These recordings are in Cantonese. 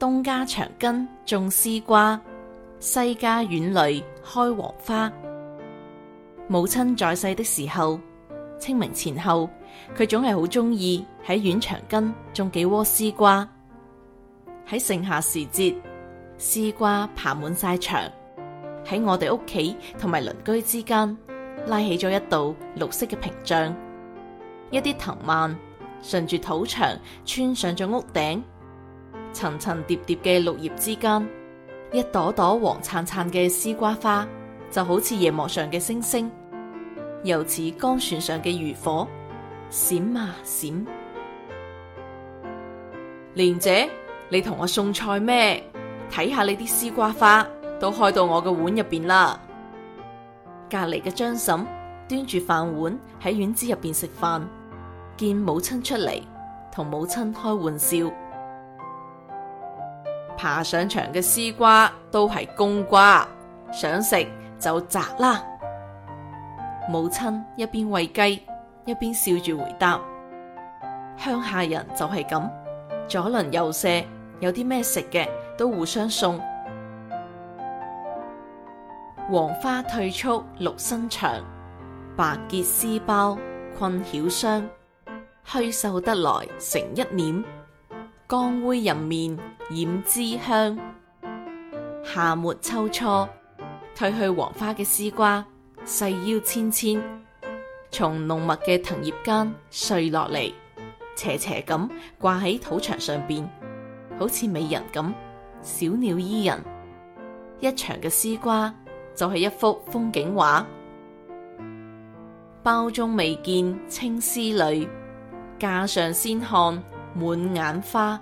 東家長根種絲瓜，西家院裏開黃花。母親在世的時候，清明前後，佢總係好鍾意喺院牆根種幾窩絲瓜。喺盛夏時節，絲瓜爬滿晒牆，喺我哋屋企同埋鄰居之間拉起咗一道綠色嘅屏障。一啲藤蔓順住土牆穿上咗屋頂，層層疊疊嘅綠葉之間，一朵朵黃燦燦嘅絲瓜花就好似夜幕上嘅星星，又似江船上嘅漁火，閃啊閃。蓮姐，你同我送菜咩？睇下你啲絲瓜花都開到我嘅碗入邊啦。隔籬嘅張嬸端住飯碗喺院子入邊食飯，見母親出嚟，同母親開玩笑：爬上牆嘅絲瓜都係冬瓜，想食就摘啦。母親一邊餵雞，一邊笑住回答：鄉下人就係咁，左鄰右舍有啲咩食嘅都互相送。黃花褪促綠生長，白結絲苞困曉霜。虛繡得來成一簾，光煨人面染脂香。夏末秋初，褪去黃花嘅絲瓜細腰纖纖，從濃密嘅藤葉間碎落嚟，斜斜咁掛喺土牆上邊，好似美人咁，小鳥依人。一牆嘅絲瓜就係一幅風景畫。鮑中未見青絲裏，架上先看滿眼花。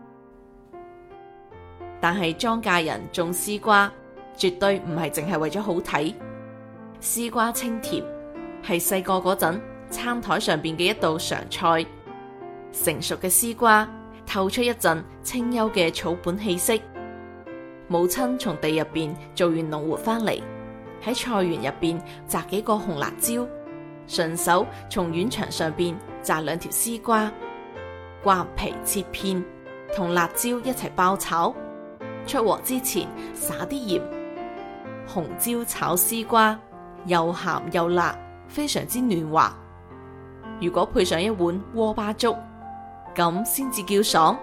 但係莊稼人種絲瓜，絕對唔係淨係為咗好睇。絲瓜清甜，係細個嗰陣餐台上邊嘅一道常菜。成熟嘅絲瓜透出一陣清幽嘅草本氣息。母親從地入邊做完農活翻嚟，喺菜園入邊摘幾個紅辣椒，順手從院牆上邊摘兩條絲瓜，刮皮切片，同辣椒一齊爆炒。出鑊之前撒啲鹽。紅椒炒絲瓜，又鹹又辣，非常之嫩滑。如果配上一碗鍋巴粥，咁先至叫爽。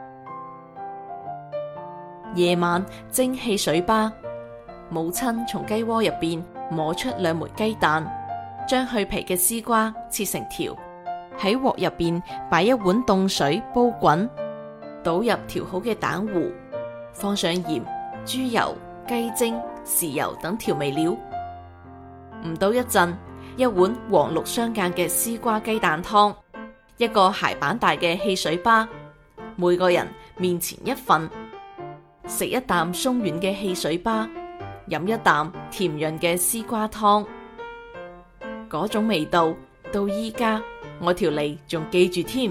夜晚蒸汽水巴，母親從雞窩入邊摸出兩枚雞蛋，將去皮嘅絲瓜切成條，喺鑊入邊擺一碗凍水煲滾，倒入調好嘅蛋糊，放上鹽、豬油、雞精、豉油等調味料。唔到一陣，一碗黃綠相間嘅絲瓜雞蛋湯，一個鞋板大嘅汽水巴，每個人面前一份。食一啖鬆軟嘅汽水巴，飲一啖甜潤嘅絲瓜湯，嗰種味道到依家我條脷仲記住添。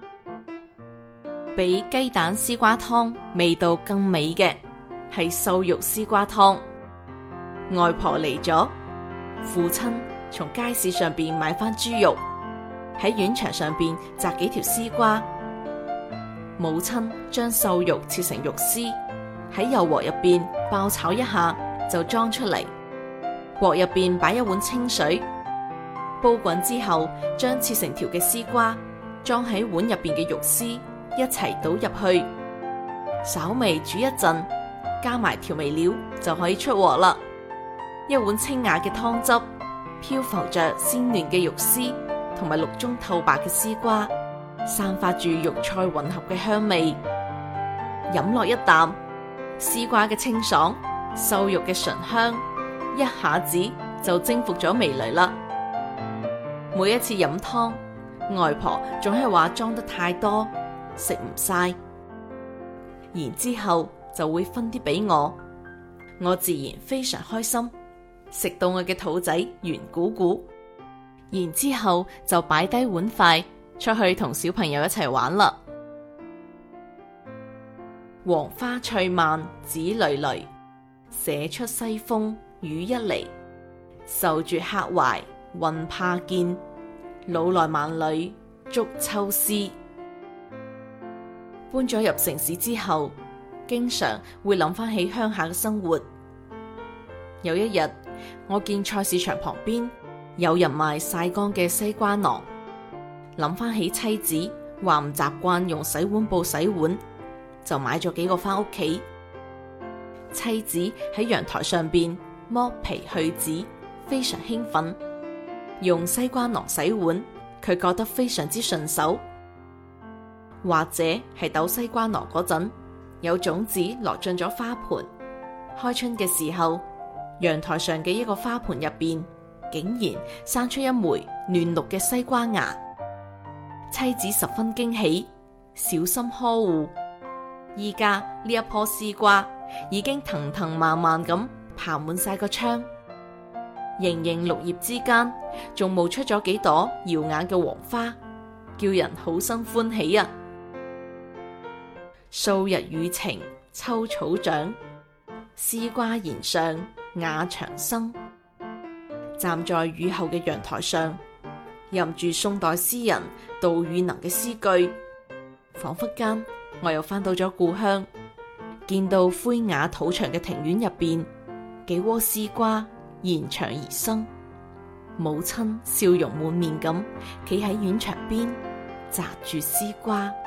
比雞蛋絲瓜湯味道更美嘅係瘦肉絲瓜湯。外婆嚟咗，父親從街市上邊買翻豬肉，喺院牆上邊摘幾條絲瓜，母親將瘦肉切成肉絲，喺油鑊入邊爆炒一下就裝出嚟。鑊入邊擺一碗清水，煲滾之後，將切成條嘅絲瓜裝喺碗入邊嘅肉絲一齊倒入去，稍微煮一陣，加埋調味料就可以出鑊啦。一碗清雅嘅湯汁，漂浮着鮮嫩嘅肉絲同埋綠中透白嘅絲瓜，散發住肉菜混合嘅香味。飲落一啖，絲瓜嘅清爽，瘦肉嘅醇香，一下子就征服咗味蕾啦。每一次飲湯，外婆總係話裝得太多，食唔晒，然之後就會分啲俾我，我自然非常開心，食到我嘅肚仔圓鼓鼓，然之後就擺低碗筷出去同小朋友一齊玩啦。黃花翠蔓子纍纍，寫出西風雨一嚟。愁絕客懷恨怕見，老來萬里捉秋思。搬咗入城市之後， 經常會諗翻起鄉下嘅生活。有一日，我見菜市場旁邊有人賣曬乾嘅西瓜囊，諗翻起妻子話唔習慣用洗碗布洗碗，就買咗幾個翻屋企。妻子喺陽台上邊剝皮去籽，非常興奮。用西瓜囊洗碗，佢覺得非常之順手。或者係鬥西瓜囊嗰陣，有種子落進咗花盆，開春嘅時候，陽台上嘅一個花盆入邊竟然生出一枚嫩綠嘅西瓜芽。妻子十分驚喜，小心呵護。依家呢一棵絲瓜已經藤藤蔓蔓咁爬滿晒個窗，盈盈綠葉之間仲冒出咗幾朵耀眼嘅黃花，叫人好生歡喜啊！數日雨晴秋草長，絲瓜弦上雅長生。站在雨後嘅陽台上，吟住宋代詩人杜宇能嘅詩句，仿佛間我又翻到咗故鄉，見到灰瓦土牆嘅庭院入邊，幾窩絲瓜沿牆而生，母親笑容滿面咁企喺院牆邊摘住絲瓜。